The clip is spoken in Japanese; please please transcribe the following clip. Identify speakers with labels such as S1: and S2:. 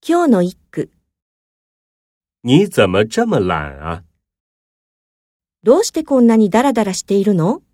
S1: 今日の一句。
S2: 你怎么这么懒啊？
S1: どうしてこんなにダラダラしているの？